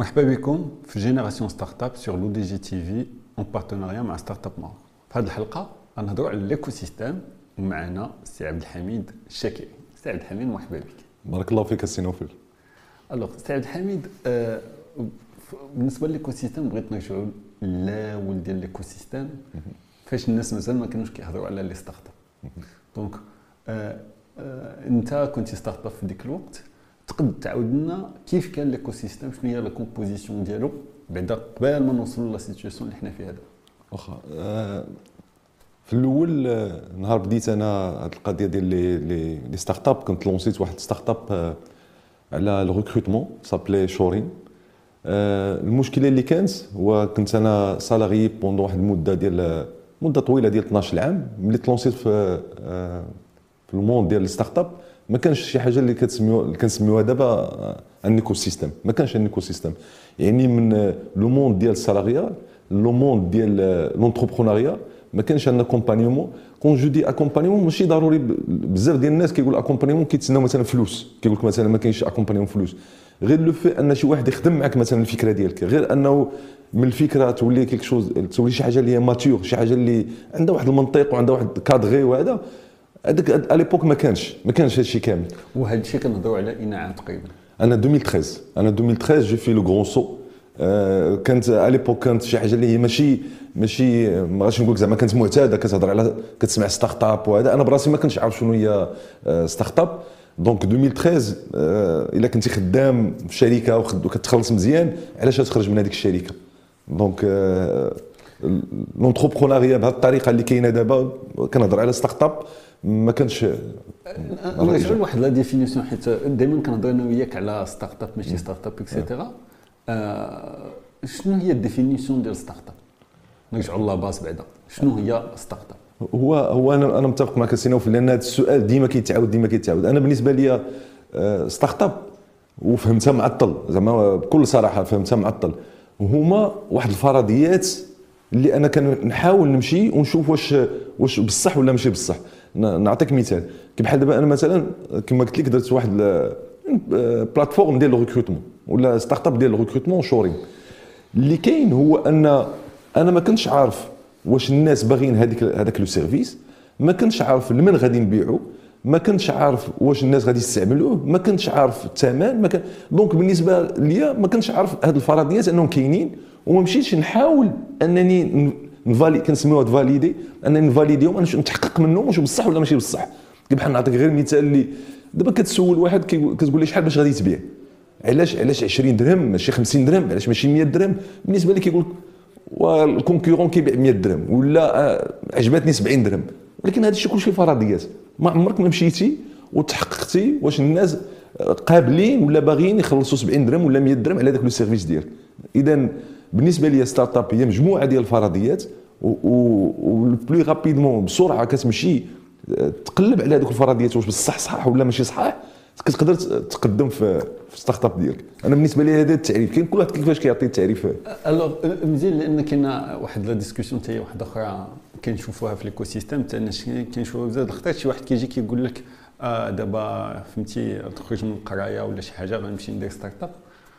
مرحبا بكم في جينيراسيون ستارت اب سور لو دي جي تي في اون بارتناريا مع ستارت اب مار. في هذه الحلقه غنهضروا على الايكو سيستيم ومعنا السي عبد الحميد الشاكري. سي عبد الحميد مرحبا بك. بارك الله فيك السي نوفل. الوغ سي عبد الحميد، بالنسبه للايكو سيستيم بغيت نرجعوا للاول ديال الايكو سيستيم فاش الناس مازال ما كانوش كيهضروا على لي ستارت اب. دونك انت كنتي ستارت اب في ديك الوقت، تقد تعاود لنا كيف كان ليكو سيستيم، شنو هي لا كومبوزيسيون ديالو بعدا قبل ما نوصلوا لا سيتوياسيون اللي حنا فيها دابا. واخا في الاول نهار بديت انا هاد القضيه ديال لي ستارت اب، كنت لونسيت واحد ستارت اب على الريكروتمون سابلي شورين. المشكله اللي كانت هو كنت انا سالاري بوندون واحد المده ديال مده طويله ديال 12 عام. ملي تلونسيت في الموند ديال الستارت اب ما كانش شي حاجه اللي كنسميوها دابا ان ايكو سيستيم. ما كانش ان ايكو سيستيم، يعني من لو موند ديال السالاريال لو موند ديال لونتربرونيا ما كانش ان اكومبانيمون. كون جو دي اكومبانيمون ماشي ضروري بزاف ديال الناس كيقول اكومبانيمون كيتسناو مثلا فلوس، كيقول لك مثلا ما كاينش اكومبانيمون فلوس، غير لو في ان شي واحد يخدم معك مثلا الفكره ديالك، غير انه من الفكره تولي كيك شوز، تولي شي حاجه اللي هي ماتيور، شي حاجه اللي عندها واحد المنطق وعندها واحد كادغي. وهذا هذاك اليبوك ما كانش هادشي كامل. وهذا الشيء كنهضروا على اناعه تقريبا. انا 2013 جو في لو غران سو. كانت اليبوك كانت شي حاجه اللي هي ماشي ما غاديش نقول زعما كانت معتاده، كتهضر على كتسمع ستارت اب وهذا. انا براسي ما كنتش عارف شنو هي ستارت اب. دونك 2013 الا كنتي خدام في شركه وكتخلص مزيان، علاش تخرج من هذيك الشركه؟ دونك لونتربرونيا بهذه الطريقه اللي كاينه دابا، كنهضر على ستارت اب ما كانش. نرجعوا لواحد لا ديفينيسيون، حيت دائما كنهضر انا وياك على ستارت اب ماشي ستارت اب اكسيتيرا. شنو هي الديفينيسيون ديال ستارت اب؟ نرجعوا للا باس بعدا، شنو هي ستارت اب؟ هو انا متفق معك السي نوفل، لان هذا السؤال ديما كيتعاود. انا بالنسبه لي ستارت اب وفهمتها معطل، زعما بكل صراحه فهمتها معطل، هما واحد الفرضيات اللي انا كنحاول نمشي ونشوف واش بصح ولا ماشي بصح. نعطيك مثال، كي بحال دابا انا مثلا كما قلت لك درت واحد بلاتفورم ديال الريكروتمون ولا ستارت اب ديال الريكروتمون شورين. اللي كاين هو ان انا ما كنتش عارف واش الناس باغيين هذاك لو سيرفيس، ما كنتش عارف لمن غادي نبيعو، ما كنتش عارف واش الناس غادي يستعملوه، ما كنتش عارف الثمن، دونك بالنسبه ليا ما كنتش عارف هاد الفرضيات انهم كاينين، وما مشيتش نحاول انني كنسميوها فاليدي، انني نفاليديهم، انا نتحقق منهم واش بصح ولا ماشي بصح. بحال نعطيك غير مثال، اللي دابا كتسول واحد كتقول لي شحال باش غادي تبيع، علاش 20 درهم ماشي 50 درهم، علاش ماشي 100 درهم؟ بالنسبه لي كيقول والكونكورون كيبيع 100 درهم ولا عجبتني 70 درهم. ولكن هذا الشيء كلشي فرضيات، ما عمرك ما مشيتي وتحققتي واش الناس قابلين ولا باغيين يخلصوا 70 درهم ولا 100 درهم على داك لو سيرفيس ديالك. اذا بالنسبه لي ستارت اب هي مجموعه ديال الفرضيات، و بلو رابيدمون بسرعه كتمشي تقلب على هذوك الفرضيات واش بصح صح ولا ماشي صح، كتقدر تقدم في ستارت اب ديالك. انا بالنسبه لي هذا التعريف، كاين كل واحد كيفاش كيعطي التعريف. الوغ مزيان، لان كاينه واحد لا ديسكوسيون حتى هي واحده اخرى كنشوفوها في ليكو سيستيم، حتى الناس كنشوفوها بزاف الخطات. شي واحد كيجي كيقول لك دابا فهمتي تخرج من القرايه ولا شي حاجه غنمشي ندير ستارت اب،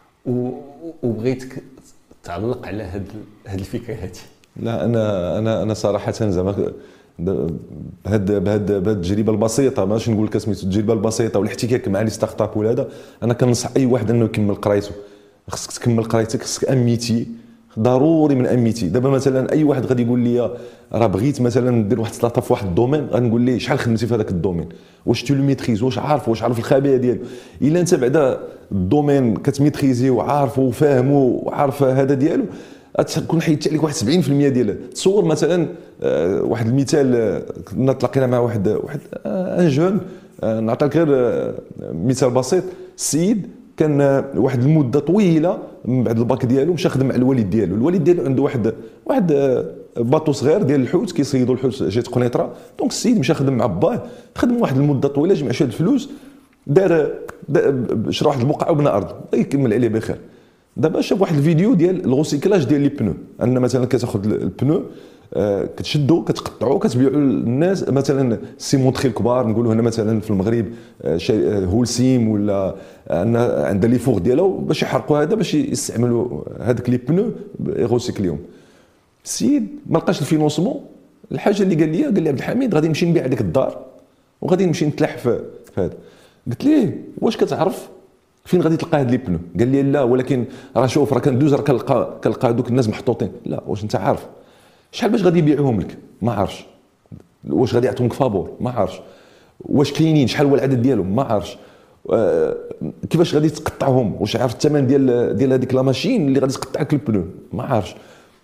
وبغيتك تعلق على هاد الفكره هذه. لا انا صراحه زعما بهاد التجربه البسيطه، ماشي نقول لك سميتو التجربه البسيطه والاحتكاك مع لي ستارت اب ولا هذا، انا كننصح اي واحد انه يكمل قرايته. خصك تكمل قرايتك، خصك اميتي ضروري من اميتي. دابا مثلا اي واحد غادي يقول لي راه بغيت مثلا ندير واحد ستارت اب في واحد الدومين، غنقول ليه شحال خدمتي في هذاك الدومين، واش تو لو ميتريز، واش عارف الخبايا ديالو. الا انت بعدا الدومين كتميتريزي وعارفه وفاهمه وعارف هذا ديالو، تكون حيدت عليك واحد 70% ديالها. تصور مثلا واحد المثال، كنا تلاقينا مع واحد ان جون، نعطيك غير مثال بسيط. السيد كان واحد المده طويله من بعد الباك ديالو مشى خدم مع الوالد ديالو عنده واحد باطو صغير ديال الحوت، كيصيدوا الحوت جات قنيطره. دونك السيد مشى خدم مع باه، خدم واحد المده طويله، جمع شويه الفلوس، دار شرا واحد البقعه وبنى ارض، يكمل عليه بخير. دابا شاف واحد الفيديو ديال الغوسيكلاج ديال لي بنو، ان مثلا كتاخذ البنو كتشدوا كتقطعوا كتبيعوا للناس. مثلا سيمونطري الكبار نقولوا هنا مثلا في المغرب هولسيم ولا عندها لي فوغ ديالو باش يحرقوا هذا باش يستعملوا هذاك لي بنو يغوسيكليهم. السيد ما لقاش الفينونسمون. الحاجه اللي قال لي عبد الحميد غادي نمشي نبيع هذيك الدار وغادي نمشي نتلح في هذا. قلت ليه واش كتعرف فين غادي تلقى هاد لي بنو؟ قال لي لا، ولكن راه شوف راه كندوز راه كنلقى هذوك الناس محطوطين. لا، واش انت عارف شحال باش غادي يبيعوهم لك؟ ما عارفش. واش غادي يعطوهم فابور؟ ما عارفش. واش كاينين شحال هو العدد ديالهم؟ ما عارفش. كيفاش غادي تقطعهم؟ واش عارف الثمن ديال هذيك لا ماشين اللي غادي تقطع لك البنو؟ ما عارفش.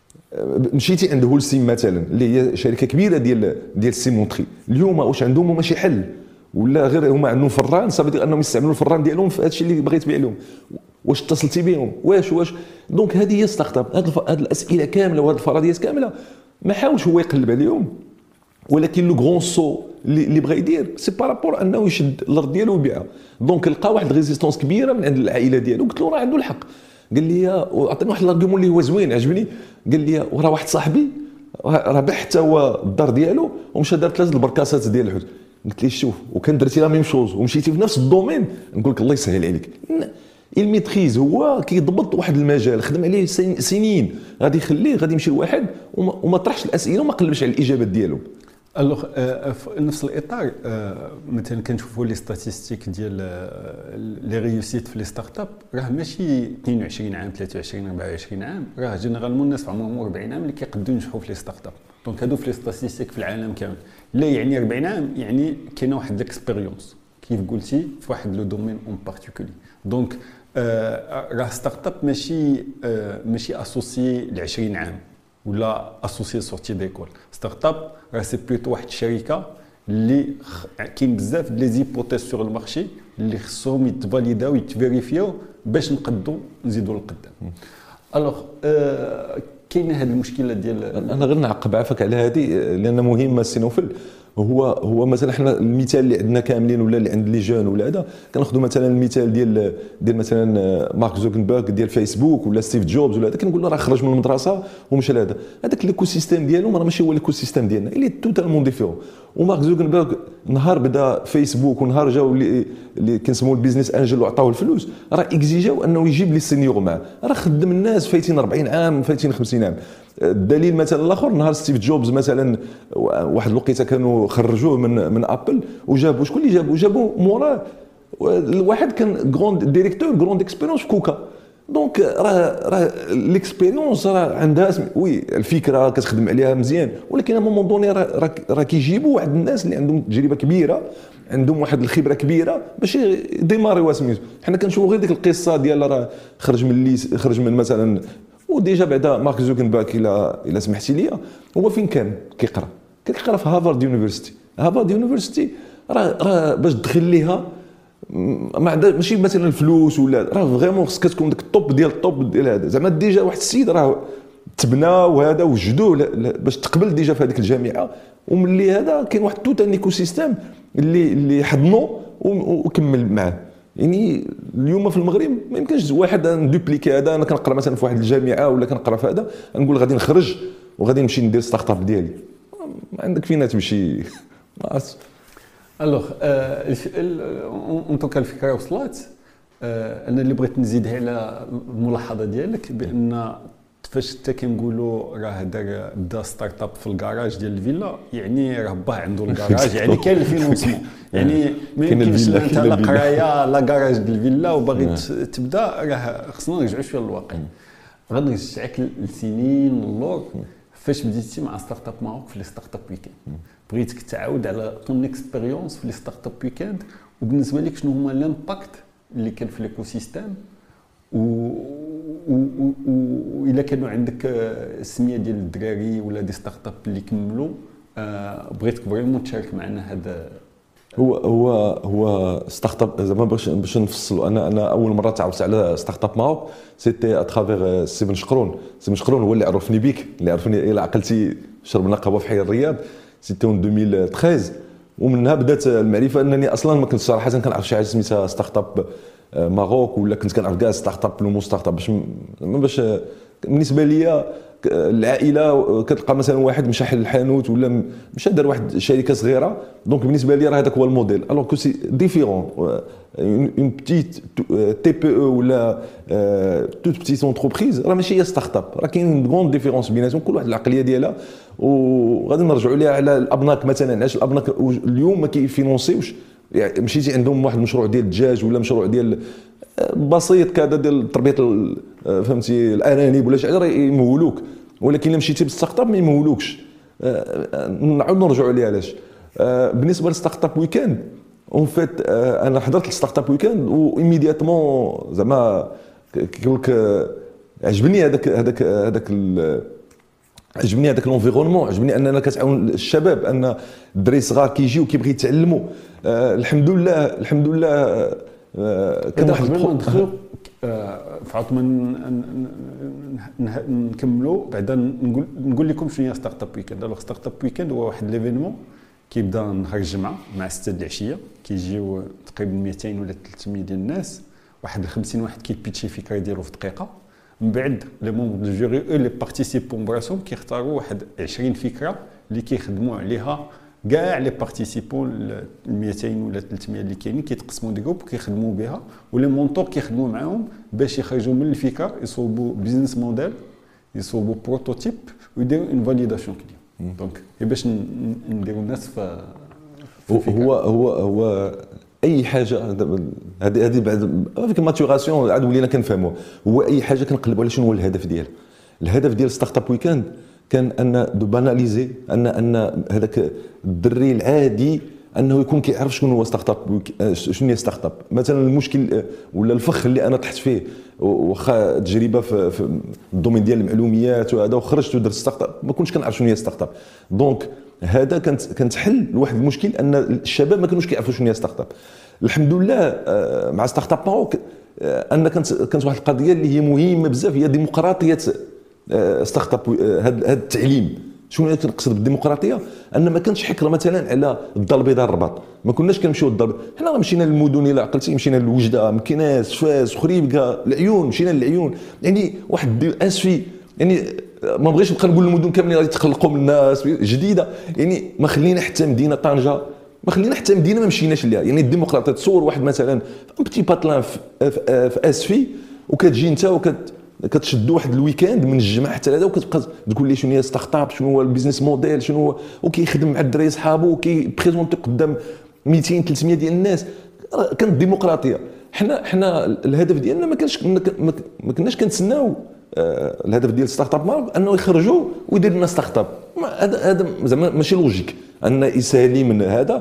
مشيتي عند هولسيم مثلا اللي هي شركه كبيره ديال السيمونطري، اليوم واش عندهم هما شي حل ولا غير هما عندهم فران صافي انهم يستعملوا الفران ديالهم في هذا الشيء اللي بغيت تبيع لهم؟ واش اتصلتي بهم؟ واش دونك هذه هي ستارت اب. هذه الاسئله كامله وهذه الفرضيات كامله ما حاولش هو يقلب عليهم، ولكن لو غران سو اللي بغى يدير سي بارابور انه يشد الارض ديالو ويبيعها. دونك لقى واحد ريزيستونس كبيره من عند العائله ديالو. قلت له راه عنده الحق. قال لي وعطيني واحد الارغيومون اللي هو زوين عجبني. قال لي وراه واحد صاحبي راه باع حتى هو الدار ديالو ومشى دار 3 البركاسات ديال الحوت. قلت لي شوف وكان درتي لا ميم شوز ومشيتي في نفس الدومين نقول لك الله يسهل عليك. الميتريز هو كيضبط واحد المجال خدم عليه سنين، غادي يخليه غادي يمشي لواحد وما طرحش الاسئله وما قلبش على الاجابات ديالو. الوغ في نفس الاطار مثلا كنشوفوا لي ستاتيستيك ديال لي ريوسيت في لي ستارت اب راه ماشي 22 عام 23 24 عام، راه جينيرالمون الناس في عمرهم 40 عام اللي كيقدروا ينجحوا في لي ستارت اب. دونك هادو في لي ستاتيستيك في العالم كامل. لا يعني 40 عام يعني كاينه واحد ليكسبيريونس كيف قلتي في واحد لو دومين اون بارتيكولي. دونك راه ستارت اب ماشي اسوسي ل 20 عام ولا اسوسي سورتي ديكول. ستارت اب راه سي بلوتو واحد الشركه اللي كاين بزاف لي زيبوتيز سور المارشي اللي خصهم يتفاليداو يتفيريفيو باش نقدروا نزيدوا لقدام. الوغ كاينه هذه المشكله ديال انا غير نعقب عافاك على هذه لان مهمه السينوفل. هو مثلا حنا المثال اللي عندنا كاملين ولا اللي عند لي جون ولا هذا كناخذوا مثلا المثال ديال مثلا مارك زوكنبرغ ديال فيسبوك ولا ستيف جوبز ولا هذا. كنقول له راه خرج من المدرسه ومشى لهذا. هذاك الايكو سيستيم ديالهم راه ماشي هو الايكو سيستيم ديالنا، اللي توتالمون ديفيرون. ومارك زوكنبرغ نهار بدا فيسبوك ونهار جاو اللي كنسموا البيزنس انجل وعطاوه الفلوس راه اكزيجاو انه يجيب لي سينيور معاه. راه خدم الناس فايتين 40 عام فايتين 50 عام. الدليل مثلا الاخر نهار ستيف جوبز مثلا واحد الوقيته كانوا خرجوه من ابل وجابوا شكون اللي جابوا موراه الواحد كان غروند ديريكتور غروند اكسبيريونس في كوكا. دونك راه ليكسبيريونس راه عندها وي الفكره كتخدم عليها مزيان، ولكن ا مومون دوني راه كيجيبوا واحد الناس اللي عندهم تجربه كبيره عندهم واحد الخبره كبيره باش يديماريو سميتو. حنا كنشوفوا غير ديك القصه ديال راه خرج من مثلا وديجا بعدا مارك زوكنبرغ الى سمحتي لي هو فين كان كيقرا في هارفارد يونيفرسيتي. راه باش تدخل ليها ما عندها ماشي مثلا الفلوس ولا راه فريمون خصك تكون داك الطوب ديال هذا. زعما ديجا واحد السيد راه تبنى وهذا وجدوه باش تقبل ديجا في هذيك الجامعه. وملي هذا كاين واحد توت ان ايكو سيستيم اللي حضنوا وكمل معاه. يعني اليوم في المغرب ما يمكنش واحد ندوبليكي هذا. انا كنقرا مثلا في واحد الجامعه ولا كنقرا في هذا نقول غادي نخرج وغادي نمشي ندير ستارت اب ديالي. ما عندك فين تمشي ما عرفتش. الوغ اون توكا الفكره وصلت. انا اللي بغيت نزيدها على الملاحظه ديالك بان فاش حتى كنقولوا راه بدا ستارت اب في الكراج ديال الفيلا يعني راه باه عنده الكراج يعني كاين الفينونسمون. يعني ما يمكنش انت لا قرايه لا كراج ديال الفيلا وباغي تبدا راه خصنا نرجعوا شويه للواقع. غنرجعك لسنين اللور فاش بديتي مع ستارت اب ماروك في لي ستارت اب ويكاند. بغيتك تعاود على طون اكسبيريونس في لي ستارت اب ويكاند وبالنسبه لك شنو هما لامباكت اللي كان في ليكو سيستيم وإلا كانوا عندك السميه ديال الدراري ولا دي ستارت اب اللي كملوا بغيتك فريمون تشارك معنا هذا. هو ستارت اب زعما باش نفصلوا. انا اول مره تعرفت على ستارت اب ماروك سيتي اترافير سيفن شقرون هو اللي عرفني بيك، اللي عرفني الى عقلتي شربنا قهوه في حي الرياض سيتي اون 2013. ومنها بدات المعرفه انني اصلا ما كنت صراحه كنعرف شي حاجه سميتها ستارت اب ماروك ولا كنت كنعرف كاع ستارت اب لو مو ستارت اب باش بالنسبه لي العائله كتلقى مثلا واحد مشى حل الحانوت ولا مشى دار واحد شركه صغيره، دونك بالنسبه لي راه هذاك هو الموديل. الوغ كو سي ديفيرون اون بتيت تي بي او ولا توت بتيت اونتربريز راه ماشي هي ستارت اب، راه كاين غون ديفيرونس بيناتهم، كل واحد العقليه ديالها. وغادي نرجعوا ليها على الابناك مثلا، علاش الابناك اليوم ما كيفينونسيوش؟ يعني مشيتي عندهم واحد المشروع ديال الدجاج ولا مشروع ديال بسيط كذا ديال تربيه فهمتي الارانب ولا شي حاجه، راه يمولوك. ولكن الا مشيتي بالستارت اب ما يمولوكش. نعاود نرجعوا عليها علاش. بالنسبه للستارت اب ويكاند اون فيت، انا حضرت الستارت اب ويكاند وايميدياتمون زعما كيقول لك عجبني عجبني هذاك الانفيرونمون، عجبني اننا كتعاون الشباب، ان الدراري صغار كيجيو كيبغي يتعلموا. الحمد لله كان واحد قبل ما ندخلوا فعطما نكملوا بعدا نقول لكم شنو هي ستارت اب ويكاند. الوغ ستارت اب ويكاند هو واحد ليفينمون كيبدا نهار الجمعه مع 6 د العشيه، كيجيو تقريبا 200 ولا 300 ديال الناس، واحد 50 واحد كيبيتشي فكره ديالو في دقيقه. من بعد لي مونبر دو جوري او لي بارتيسيبون براسهم كيختاروا واحد 20 فكره اللي كيخدموا عليها كاع لي بارتيسيبون 200 ولا 300 اللي كاينين، كيتقسموا دي جروب وكيخدموا بها، ولي مونطور كيخدموا معاهم باش يخرجوا من الفكره، يصوبوا بيزنس موديل، يصوبوا بروتوتيب ويديروا اون فاليداسيون كليا. دونك باش نديروا الناس في هو اي حاجه هذه بعد فيك الماتوراسيون عاد ولينا كنفهموها. هو اي حاجه كنقلبوا على شنو هو الهدف ديالها. الهدف ديال ستارت اب ويكاند كان ان دو باناليزي ان هذاك الدري العادي انه يكون كيعرف شنو هو ستارت اب، شنو هي ستارت اب. مثلا المشكل ولا الفخ اللي انا طحت فيه واخا تجربه في الدومين ديال المعلوميات وهذا، وخرجت ودرت ستارت اب ما كنتش كنعرف شنو هي ستارت اب. دونك هذا كانت حل لواحد المشكل، ان الشباب ما كانوش كيعرفوا شنو هي ستارت اب. الحمد لله مع ستارت اب ماروك ان كانت واحد القضيه اللي هي مهمه بزاف، هي ديمقراطيه ستارت اب. هذا التعليم شنو كنقصد بالديمقراطيه؟ ان ما كانش حكره مثلا على الدار البيضاء الرباط، ما كناش كنمشيو للدار. حنا مشينا للمدن، الا عقلتي مشينا للوجده، مكناس، فاس، خريبكا، العيون، مشينا للعيون. يعني واحد اسفي، يعني ما بغيتش نبقى نقول المدن كاملين غادي يتخلقوا من الناس جديده، يعني ما خلينا حتى مدينه طنجه، ما خلينا حتى مدينه ما مشيناش ليها. يعني الديمقراطيه تصور واحد مثلا بتي باتلان في اسفي، وكتجي انت كتشد واحد الويكاند من الجمعه حتى هذا، وكتبقى تقول لي شنو هي ستارت اب، شنو هو البيزنس موديل، شنو هو، وكيخدم مع الدراري صحابو وكيبريزونتي قدام 200 300 ديال الناس. كانت ديمقراطيه. حنا الهدف ديالنا ما كناش كنتسناو الهدف ديال ستارت اب مارك انه يخرجوا ويدير لنا ستارت اب. هذا زعما ماشي لوجيك ان يسالي من هذا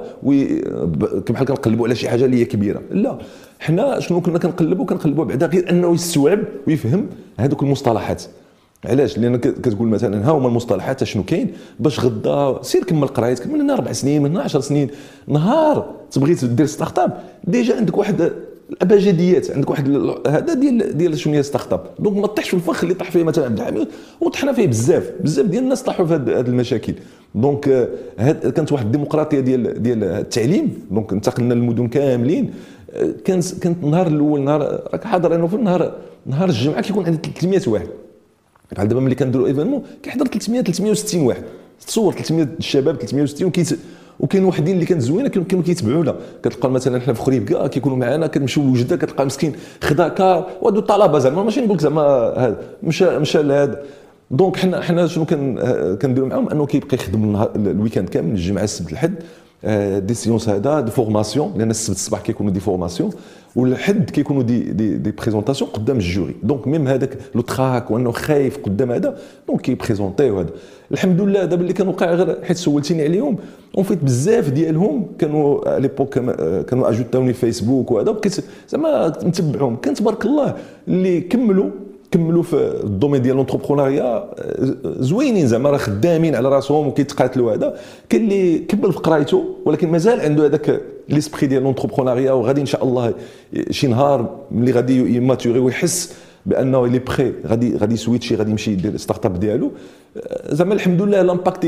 بحال كنقلبوا على شي حاجه اللي هي كبيره. لا، حنا شنو كنا كنقلبوا بعدا غير انه يستوعب ويفهم هذوك المصطلحات. علاش؟ لان كتقول مثلا ها هما المصطلحات شنو كاين، باش غدا سير كمل قرايتك من هنا 4 سنين، من هنا 10 سنين، نهار تبغي دير ستارت اب ديجا عندك واحد الابجديات، عندك واحد هذا ديال شنو هي ستارت اب. دونك ما تطيحش في الفخ اللي طاح فيه مثلا عبد الحميد، وطحنا فيه بزاف ديال الناس طاحوا في هذه المشاكل. دونك كانت واحد الديمقراطيه ديال التعليم. دونك انتقلنا للمدن كاملين. كانت النهار الاول، نهار راك حاضر انا في نهار الجمعه كيكون عندي 300 واحد. بحال دابا ملي كنديروا ايفينمون كيحضر 360 واحد. تصور 300 الشباب 360 وكاين وحدين اللي كانت زوينه كانوا كيتبعونا. كتلقى مثلا حنا في خريبكا كيكونوا معنا، كنمشيو لوجده كتلقى مسكين خدا كار وهادو الطلبه زعما ماشي نقول لك زعما هذا مشى لهذا. دونك حنا شنو كنديروا معاهم، انه كيبقى يخدم الويكاند كامل، الجمعه السبت الحد دي سيونس هذا دي فورماسيون، لان السبت الصباح كيكونوا دي فورماسيون والحد كيكونوا دي بريزونطاسيون قدام الجوري. دونك ميم هذاك لو تراك وانه خايف قدام هذا، دونك كيبريزونطيو هذا. الحمد لله دابا اللي كان وقع غير حيت سولتيني عليهم، اون فيت بزاف ديالهم كانوا ليبوك كانوا اجوتاوني فيسبوك وهذا، زعما نتبعهم. كان تبارك الله اللي كملوا في الدومين ديال لونتربرونيا زوينين، زعما راه خدامين على راسهم وكيتقاتلوا هذا. كاين اللي كمل في قرايته ولكن مازال عنده هذاك ليسبري ديال لونتربرونيا، وغادي ان شاء الله شي نهار ملي غادي يماتوري ويحس بانه لي بري غادي سويتشي، غادي يمشي يدير ستارت اب ديالو. زعما الحمد لله لامباكت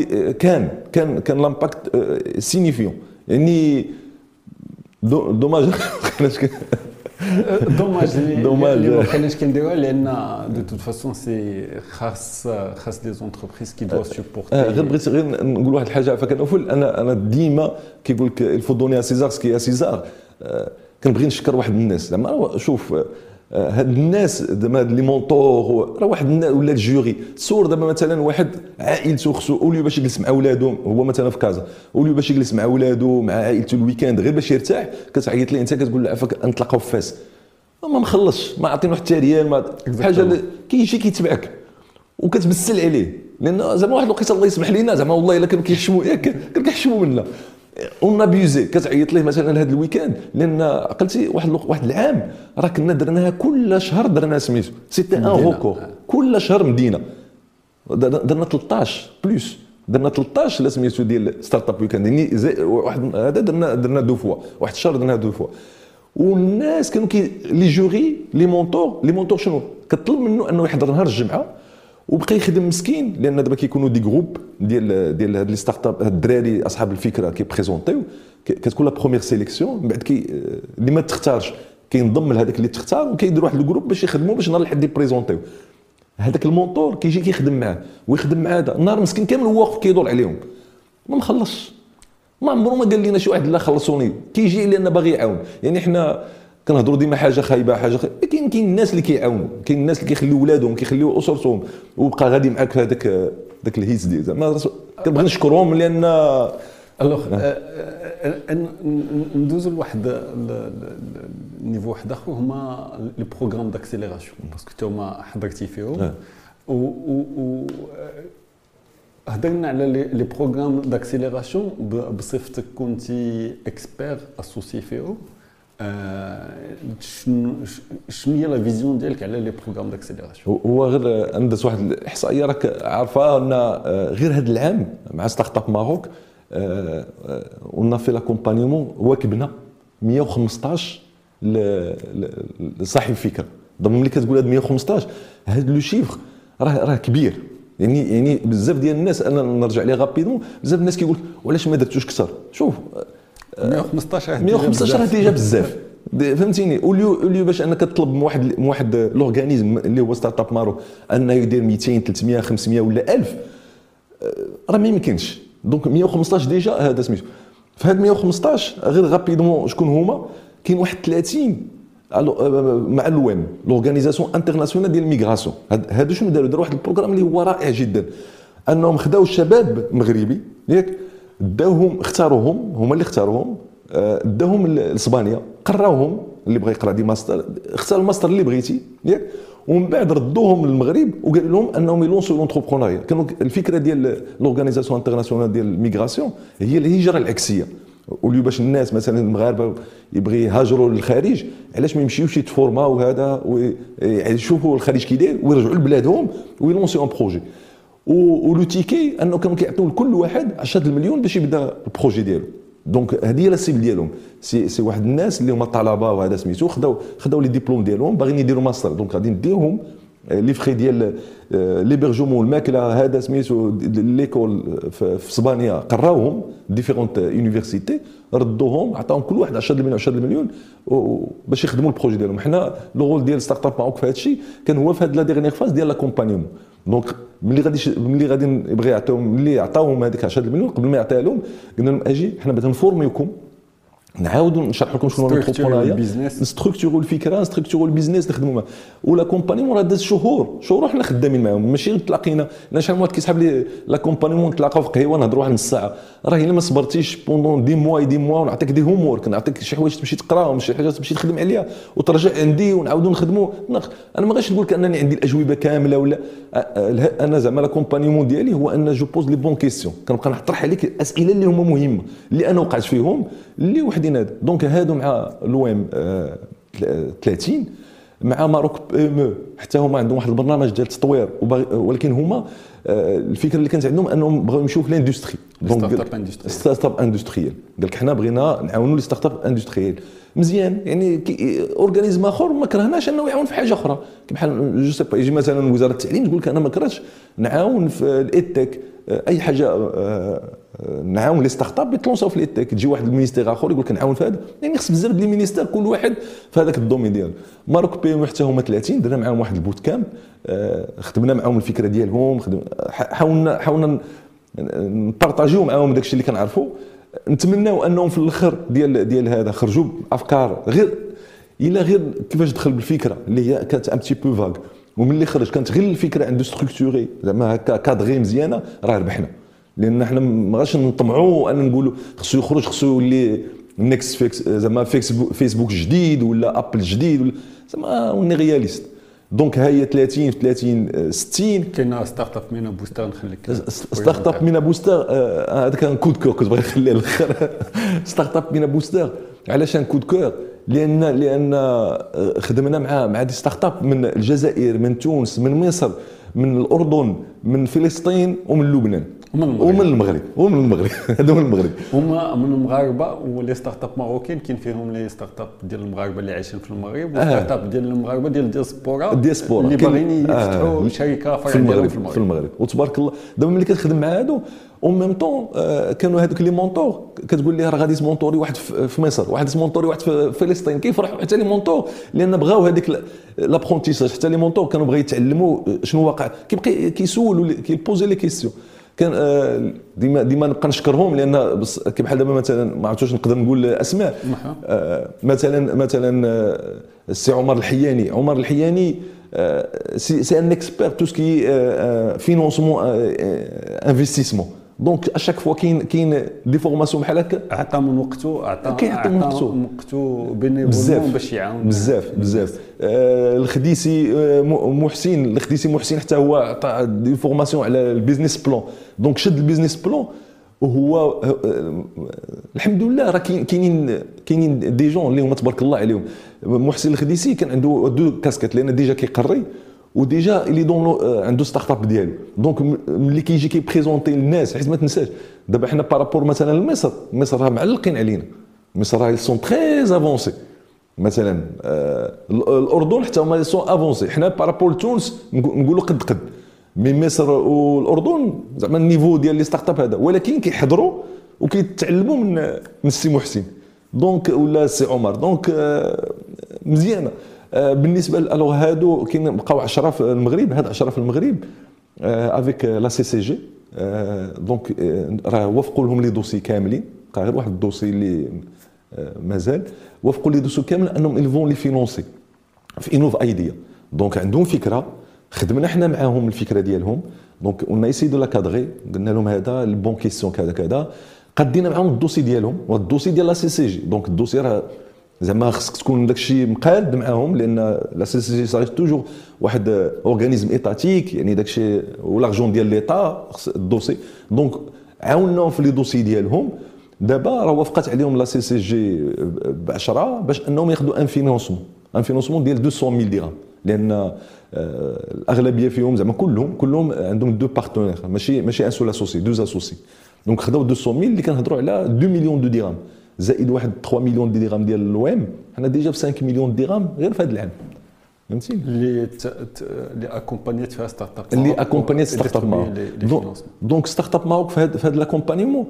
كان لامباكت سينيفيون. يعني دوماج دوماج دوماج. اللي ما كانش كنديروها لان دو توت فاسون سي خاص دي زونتربريز كي دو سوبورتي. غير بغيت غير نقول واحد الحاجه فكنوفل انا ديما كيقول لك الفو دوني ا سيزار سكي ا سيزار. كنبغي نشكر واحد الناس زعما شوف هاد الناس زعما لي مونطور راه واحد ولا الجوري تصور دابا مثلا واحد عائلته خصو اوليو باش يجلس مع ولادهم هو مثلا في كازا اوليو باش يجلس مع ولادو مع عائلته الويكاند غير باش يرتاح كتعيط ليه انت كتقول له عافاك نتلاقاو في فاس ما مخلصش ما عاطينو حتى ريال ما حاجه كيجي كيتبعك وكتبسل عليه لان زعما واحد الوقيته الله يسمح لينا زعما والله الا كانوا كيحشموا ياك كانوا كيحشموا منا اون ابيوزي كتعيط ليه مثلا هذا الويكاند لان عقلتي واحد العام راه كنا درناها كل شهر درنا سميتو سيتي ان روكور كل شهر مدينه درنا 13 بلوس درنا 13 لا سميتو ديال ستارت اب ويكاند يعني واحد هذا درنا دو فوا واحد الشهر درنا دو فوا والناس كانوا لي جوري لي مونتور شنو كطلب منه انه يحضر نهار الجمعه وبقى يخدم مسكين لان دابا كيكونوا دي جروب ديال هاد لي ستارت اب هاد الدراري اصحاب الفكره كيبريزونطيو كتكون لا بروميير سيليكسيون من بعد اللي ما تختارش كينضم لهذاك اللي تختار وكيدير واحد الجروب باش يخدموا باش نهار الحد يبريزونطيو هذاك المونطور كيجي كيخدم معاه ويخدم مع هذا النهار مسكين كامل هو واقف كيدور عليهم ما مخلصش ما عمرو ما قال لنا شي واحد لا خلصوني كيجي لان باغي يعاون يعني حنا كنهضروا ديما حاجه خايبه كاين الناس اللي كيعاونوا كاين الناس اللي كيخليو ولادهم كيخليو اسرتهم وبقى غادي معاك في هذاك الهيس ديال زعما كنبغي نشكرهم لان الوغ ندوزو لواحد النيفو واحد اخر هما لي بروغرام داكسيليراسيون باسكو نتوما حضرتي فيهم و هضرنا على لي بروغرام داكسيليراسيون بصفتك كنتي اكسبير اسوسي فيهم شنو هي لا فيزيون ديالك على لي بروغرام داكسيليراسيون؟ هو غير ندز واحد الاحصائيه راك عارفه ان غير هذا العام مع ستارت اب ماروك قلنا في لاكومبانيمون واكبنا 115 لصاحب الفكره ضمن ملي كتقول هاد 115 هذا لو شيفر راه كبير يعني بزاف ديال الناس انا نرجع ليه غابيدمون بزاف الناس كيقول وعلاش ما درتوش اكثر شوف 115 ديجا بزاف فهمتيني اوليو باش انك تطلب من واحد لورغانيزم اللي هو ستارت اب ماروك انه يدير 200 300 500 ولا 1000 راه ما يمكنش دونك 115 ديجا هذا سميتو في هاد 115 غير غابيدمون شكون هما كاين واحد 30 مع الويم لورغانيزاسيون انترناسيونال ديال الميغراسيون هادو شنو داروا واحد البروغرام اللي هو رائع جدا انهم خداو الشباب مغربي ياك داوهم اختاروهم هما اللي اختاروهم داوهم لاسبانيا قراوهم اللي بغى يقرا دي ماستر اختار الماستر اللي بغيتي ياك ومن بعد ردوهم للمغرب وقالوا لهم انهم يلونسوا لونتربرونيا كانوا الفكره ديال لورغانيزاسيون انترناسيونال ديال الميغراسيون هي الهجره العكسيه وليو باش الناس مثلا المغاربه يبغي يهاجروا للخارج علاش ما يمشيوش يتفورماو هذا ويشوفوا الخارج كي داير ويرجعوا لبلادهم ويلونسيو ان بروجي ولو تيكي انه كانوا كيعطيو لكل واحد 10 مليون باش يبدا البروجي ديالو دونك هذه هي لا سيبل ديالهم سي واحد الناس اللي هما طلبه وهذا سميتو خداو لي ديبلوم ديالهم باغيين يديروا ماستر دونك غادي نديوهم لي فري ديال ليبرجومون الماكله هذا سميتو ليكول في اسبانيا قراوهم ديفيرونت يونيفرسيتي ردوهم عطاهم كل واحد 10 مليون باش يخدموا البروجي ديالهم حنا لو رول ديال ستارت اب ماروك في هذا الشيء كان هو في هذه لا ديرنيير فاز ديال لاكومبانيمون دونك ملي غادي يبغي يعطيهم ملي عطاوهم هذيك 10 مليون قبل ما يعطيها لهم قلنا لهم اجي حنا بغينا نفورميوكم نعاودوا نشرح لكم شنو هو الانتربرونيا نستركتوروا الفكره نستركتوروا البيزنس نخدموا معاه ولا كومبانيمون راه داز شهور حنا خدامين معاهم ماشي غير تلاقينا انا شحال من واحد كيسحب لي لا كومبانيمون نتلاقاو في قهيوه نهضروا واحد نص ساعه راه الا ما صبرتيش بوندون دي موا ونعطيك دي هوم وورك نعطيك شي حوايج تمشي تقراهم شي حاجات تمشي تخدم عليها وترجع عندي ونعاودوا نخدموا انا ما غاش نقول لك انني عندي الاجوبه كامله ولا انا زعما لا كومبانيمون ديالي هو ان جو بوز لي بون كيسيون كنبقى نطرح عليك الاسئله اللي هما مهمه اللي انا وقعت فيهم اللي وحدين هذا دونك هادو مع الويم 30 مع ماروك ام حتى هما عندهم واحد البرنامج ديال التطوير ولكن هما الفكره اللي كانت عندهم انهم بغاو يمشيو في الاندستري ستارت اب اندستريال. قال لك حنا بغينا نعاونوا لي ستارت اب اندستريال مزيان يعني اورغانيزم اخر ما كرهناش انه يعاون في حاجه اخرى بحال جو سي با يجي مثلا وزاره التعليم تقول لك انا ما كرهتش نعاون في الايتك اي حاجه نعاون لي ستارت اب يتلونساو في الايتك. تجي واحد المينيستير اخر يقول لك نعاون في هذا يعني خص بزاف ديال المينيستير كل واحد في هذاك الدومين ديالو. ماروك بي حتى هما 30 درنا معاهم واحد البوت كامب خدمنا معاهم الفكره ديالهم حاولنا نبارطاجيو معاهم داكشي اللي كنعرفوا. نتمناو انهم في الاخر ديال هذا خرجوا بافكار غير كيفاش دخل بالفكره اللي هي كانت ان بتي بو فاغ وملي خرج كانت غير الفكره عنده ستركتوري زعما هكا كادغي مزيانه راه ربحنا. لان حنا ما غاش نطمعوا ان نقولوا خصو يخرج خصو يولي نيكست زعما فيسبوك جديد ولا ابل جديد ولا زعما وني رياليست. دونك ها هي 30 في 30 60 كاين ستارت اب مينا بوستر نخليك ستارت اب مينا بوستر هذا كان كود كور كنت باغي نخليه الاخر. ستارت اب مينا بوستر علاش ان كود كور؟ لان خدمنا مع دي ستارت اب من الجزائر من تونس من مصر من الاردن من فلسطين ومن لبنان ومن المغرب هذا من المغرب هما من المغاربه ولي ستارت اب ماروكين كاين فيهم لي ستارت اب ديال المغاربه اللي عايشين في المغرب وستارت اب ديال المغاربه ديال الدياسبورا اللي باغيين يفتحوا شركه فرع ديالهم في المغرب. وتبارك الله دابا ملي كتخدم مع هادو او ميم طون كانوا هذوك لي مونطور كتقول ليه راه غادي تمونطوري واحد في مصر واحد تمونطوري واحد في فلسطين كيفرحوا حتى لي مونطور لان بغاو هذيك لابرونتيساج. حتى لي مونطور كانوا بغاو يتعلموا شنو واقع كيبقى كيسولوا كيبوزي لي كيسيون. كان ديما نبقى نشكرهم لان كي بحال دابا مثلا ما عرفتش نقدر نقول اسماء مثلا السي عمر الحياني سي ان اكسبير تو سكي فينونسمون انفستيسمون. دونك اشاك فوا كاين دي فورماسيون بحال هكا عطى من وقته عطى من وقته بينيفولمون باش يعاون بزاف. الخديسي محسن حتى هو عطى دي فورماسيون على البيزنس بلان. دونك شد البيزنس بلان وهو الحمد لله راه كاينين دي جون اللي هما تبارك الله عليهم. محسن الخديسي كان عنده دو كاسكيت لان ديجا كيقري وديجا اللي دون عنده ستارت اب ديالو. دونك ملي كيجي كيبريزونتي للناس حيت ما تنساش دابا حنا بارابور مثلا لمصر راه معلقين علينا. مصر راه سون تري افونسي مثلا الاردن حتى هما سون افونسي. حنا بارابور لتونس نقولوا قد من مصر والاردن زعما النيفو ديال لي ستارت اب هذا ولكن كيحضروا وكيتعلموا من السي محسن دونك ولا السي عمر. دونك مزيانه بالنسبه الوغ هادو كاين بقاو 10 في المغرب. هاد 10 في المغرب افيك لا سي سي جي. دونك راه وافقوا لهم لي دوسي كاملين غير واحد الدوسي اللي مازال وافقوا لي دوسي كامل انهم الفون لي فينونسي في انوف ايديا. دونك عندهم فكره خدمنا حنا معاهم الفكره ديالهم. دونك اون ايسي دو لا كادغي قلنا لهم هذا البون كيسيون كذا قدينا معاهم الدوسي ديالهم والدوسي ديال لا سي سي جي. دونك الدوسي راه زعما خصك تكون داكشي مقاد معاهم لان لا سي سي جي صاير توجور واحد اورغانيزم ايتاتيك يعني داكشي والارجون ديال ليطا الدوسي. دونك عاوناهم في لي دوسي ديالهم. دابا راه وافقت عليهم لا سي سي جي ب 10 باش انهم ياخذوا ان فينونسمون ديال 200,000 درهم لان الاغلبيه فيهم زعما كلهم عندهم دو بارتنير ماشي ان سول اسوسي دو اسوسي. دونك خداو 200,000 اللي كنهضروا على 2 مليون دو درهم زائد واحد 3 مليون دي درهم ديال الوام. حنا ديجا ب 5 مليون درهم غير في هذا العام فهمتيني اللي اكومبانيت فيها ستارت اب اللي اكومبانيت ستارت اب ماروك. دونك ستارت اب ماروك في هذا لاكومبانيمون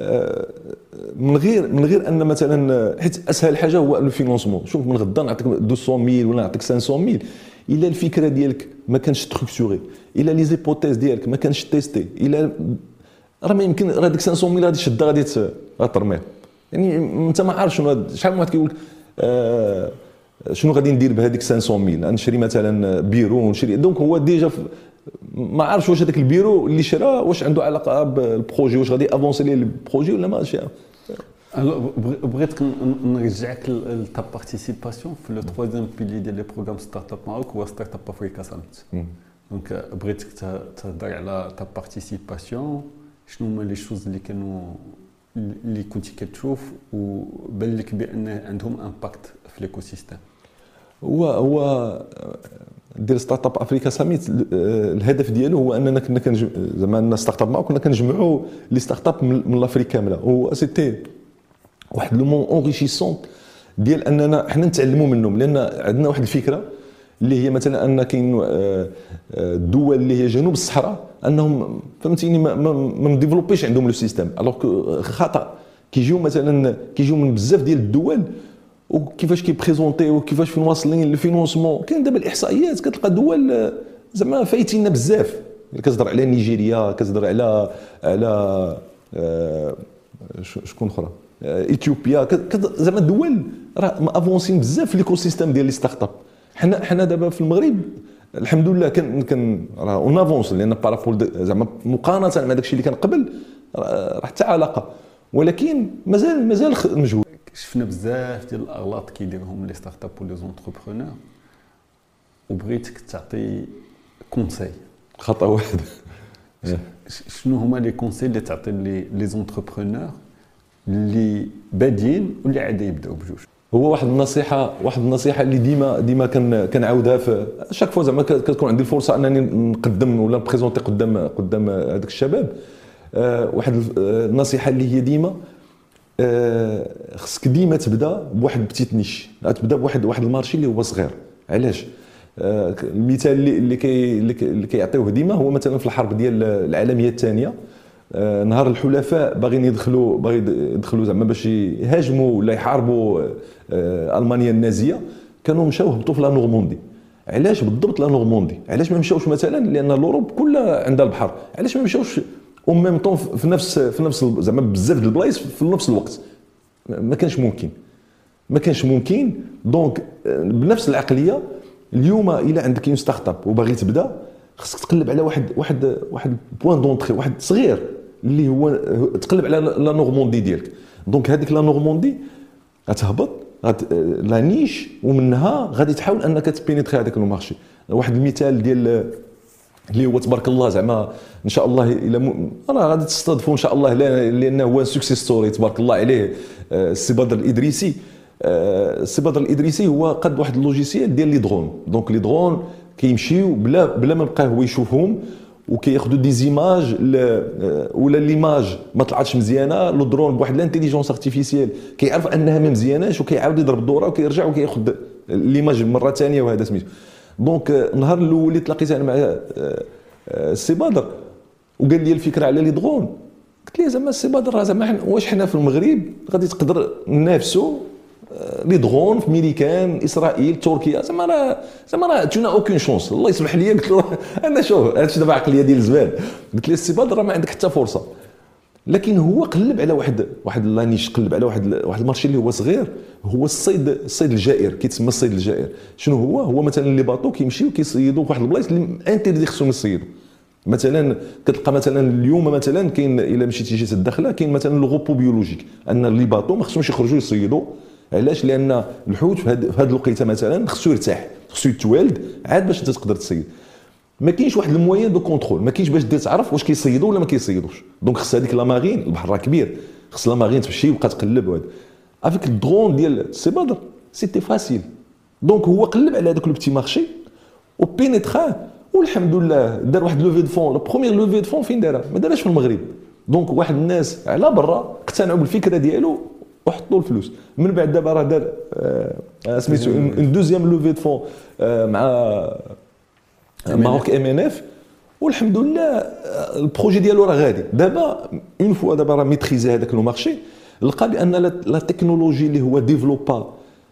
من غير ان مثلا حيت اسهل حاجه هو الفينونسمون. شوف من غدا نعطيك 200,000 ولا نعطيك 500,000 الا الفكره ديالك ما كانش ستركتوري الا لي زيبوتيز ديالك ما كانش تيستي الا راه ما يمكن راه ديك 500,000 غادي تشدها غادي ترميها. يعني انت ما عارف شنو شحال من واحد كيقول شنو غادي ندير بهذيك 500,000 نشري مثلا بيرو ونشري. دونك هو ديجا ما عارفش واش هذاك البيرو اللي شراه واش عنده علاقه بالبروجي واش غادي افونسي ليه البروجي ولا ماشي. بغيتك نرجعك لتا بارتيسيباسيون في لو ترويزيام بيلي ديال لي بروغرام ستارت اب ماروك هو ستارت اب افريكا ساميت. دونك بغيتك تهضر على تا بارتيسيباسيون شنو هما لي شوز اللي كنتي كتشوف وبان لك بان عندهم امباكت في ليكو سيستيم. هو ديال ستارت اب افريكا ساميت، الهدف ديالو هو اننا كنا زعما ستارت اب كنا كنجمعوا لي ستارت اب من لافريك كامله، و سيتي واحد لو مون اونريشيسون ديال اننا حنا نتعلموا منهم، لان عندنا واحد الفكره اللي هي مثلا ان كاين الدول اللي هي جنوب الصحراء انهم فهمتيني ما مديفلوبيش عندهم لو سيستيم، الوغ خطا كيجيو مثلا كيجيو من بزاف ديال الدول وكيفاش كيبريزونتيو وكيفاش فين واصلين الفينونسمون. كاين دابا الاحصائيات كتلقى دول زعما فايتينا بزاف، كتهضر على نيجيريا، كتهضر على شكون اخرى اثيوبيا، زعما دول راه افونسين بزاف في ليكو سيستيم ديال لي ستارت اب. حنا دابا في المغرب الحمد لله كان راه اون افونس، لان بارابول زعما مقارنه مع داكشي اللي كان قبل راه حتى علاقه، ولكن مازال مجهود. شفنا بزاف ديال الاغلاط كيديرهم لي ستارت اب ولي زونتربرونور، وبغيتك تعطي كونساي خطا واحد. شنو هما لي كونساي اللي تعطي لي زونتربرونور اللي بادين واللي عاد يبداو بجوج؟ هو واحد النصيحه اللي ديما كنعاودها في شاك فوا زعما كتكون عندي الفرصه انني نقدم ولا نبريزونتي قدام هذوك الشباب. واحد النصيحه اللي هي ديما خصك ديما تبدا بواحد بتيت نيش، تبدا بواحد المارشي اللي هو صغير. علاش؟ المثال اللي كيعطيوه ديما هو مثلا في الحرب ديال العالميه الثانيه، نهار الحلفاء باغيين يدخلوا زعما باش يهاجموا ولا يحاربوا المانيا النازيه، كانوا مشاو هبطوا في لا نورموندي. علاش بالضبط لا نورموندي؟ علاش ما مشاوش مثلا لان الاوروب كلها عندها البحر، علاش ما مشاوش او ميم طون في نفس زعما بزاف د البلايص في نفس الوقت؟ ما كانش ممكن. دونك بنفس العقليه اليوم الا عندك اون ستارت اب وباغي تبدا، خصك تقلب على واحد بوين دونطري واحد صغير اللي هو تقلب على لا نورموندي ديالك. دونك هذيك لا نورموندي غتهبط لا نيش، ومنها غادي تحاول انك تبينيتري هذاك المارشي. واحد المثال ديال اللي هو تبارك الله زعما ان شاء الله الى راه غادي تستضيفوا ان شاء الله، لانه هو سكسيس ستوري تبارك الله عليه. السي بدر الادريسي، هو قد واحد اللوجيسيال ديال لي درون. دونك لي درون كيمشيو بلا ما يبقى هو يشوفهم، وكياخذوا دي زيماج ولا ليماج ما طلعتش مزيانه، لو درون بواحد لانتيليجونس ارتيفيسيال كيعرف انها ما مزياناش وكيعاود يضرب الدوره وكيرجع وكياخذ ليماج مره ثانيه، وهذا سميتو. دونك النهار الاول اللي تلاقيت انا مع السي بدر وقال لي الفكره على لي درون، قلت ليه زعما السي بدر زعما واش حنا في المغرب غادي تقدر ننافسوا لي درون في ميريكان اسرائيل تركيا؟ زعما راه تونا اوكين شونس. الله يسمح لي قلت له انا شوف هادشي دابا عقليه ديال الزبال. قلت ليه السي بدر ما عندك حتى فرصه. لكن هو قلب على واحد لانيش، قلب على واحد المارشي اللي هو صغير، هو الصيد الجائر، كيتسمى الصيد الجائر. شنو هو مثلا لي باطو كيمشيو كيصيدوا في واحد البلايص اللي انتردي خصهم يصيدوا. مثلا كتلقى مثلا اليوم مثلا كاين الا مشيتي جيت الداخله كاين مثلا لو غوبو بيولوجيك ان لي باطو ما خصهمش يخرجوا يصيدوا. علاش؟ لان الحوت في هذه الوقيته مثلا خصو يرتاح، خصو يتوالد عاد باش انت تقدر تصيد. ما كاينش واحد الموين دو كونترول، ما كاينش باش تعرف واش كيصيدوا ولا ما كيصيدوش. دونك خص هذيك لا مارين، البحر راه كبير، خص لا مارين تمشي وبقى تقلب. وهذا افيك الدرون ديال السي بدر سيتي فاسيل. دونك هو قلب على هذاك لو بتي مارشي وبينيتراه، والحمد لله دار واحد لوفي دو فون. لو بروميير لوفي دو فون فين دارها؟ ما دارهاش في المغرب. دونك واحد الناس على برا اقتنعوا بالفكره ديالو وحطوا الفلوس. من بعد دابا راه دار سميتو اون دوزيام لوفي دو فون مع ماروك MNF، والحمد لله البروجي ديالو راه غادي. دابا اون فوا دابا راه ميتريزي هذاك لو مارشي، لقى بان لا تكنولوجي اللي هو ديفلوبا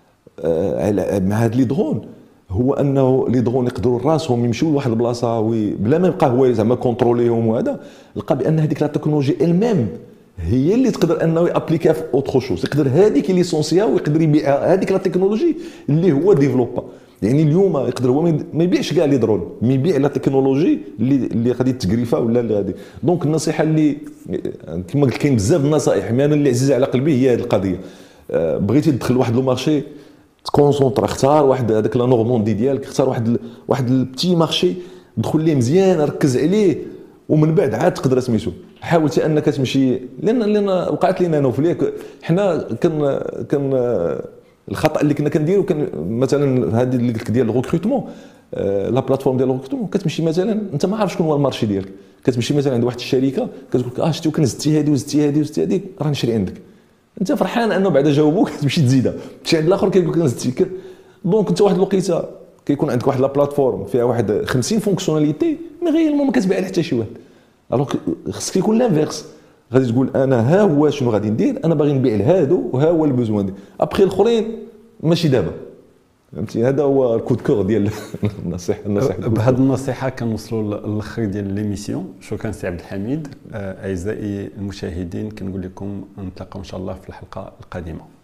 مع هاد لي درون هو انه لي درون يقدروا راسهم يمشيو لواحد البلاصه بلا ما يبقى هو زعما كونتروليهم. وهذا لقى بان هذيك لا تكنولوجي الميم هي اللي تقدر انه يابليكا في اوتر شوز، يقدر هذيك ليسونسيا ويقدر يبيع هذيك لا تكنولوجي اللي هو ديفلوبا. يعني اليوم يقدر هو ما يبيعش كاع لي درون، مي يبيع لا تكنولوجي اللي غادي تجريفا ولا اللي غادي. دونك النصيحه اللي كما قلت كاين بزاف النصائح، مي انا اللي عزيزه على قلبي هي هذه القضيه. بغيتي تدخل واحد لو مارشي تكونسونطرا، اختار واحد هذاك لا نورموندي ديالك، اختار واحد البتي مارشي دخل ليه مزيان، ركز عليه، ومن بعد عاد تقدر سميتو حاول انك تمشي. لان وقعت لينا انا وفليك حنا كان الخطا اللي كنا كنديرو كان مثلا هذه اللي قلت لك ديال الريكروتمون، لا بلاتفورم ديال الريكروتمون كتمشي مثلا انت ما عارف شكون هو المارشي ديالك، كتمشي مثلا عند واحد الشركه كتقول لك شتي كان زدتي هذه وزدتي هذه وزدتي هذه راه نشري عندك، انت فرحان انه بعدا جاوبوك تمشي تزيدها، تمشي عند الاخر كيقول لك زدتي. دونك انت واحد الوقيته كيكون عندك واحد لا بلاتفورم فيها واحد 50 فونكسيوناليتي مي غيالمون ما كتبيع لحتى شي واحد. الوغ خصك يكون لانفيرس، غادي تقول انا ها هو شنو غادي ندير، انا باغي نبيع لهادو وها هو البوزوان ديالي، ابخي الاخرين ماشي دابا. فهمتي هذا هو الكود كور ديال النصيحه. بهذه النصيحه كنوصلوا للاخر ديال ليميسيون. شكرا سي عبد الحميد. اعزائي المشاهدين كنقول لكم نتلاقاو ان شاء الله في الحلقه القادمه.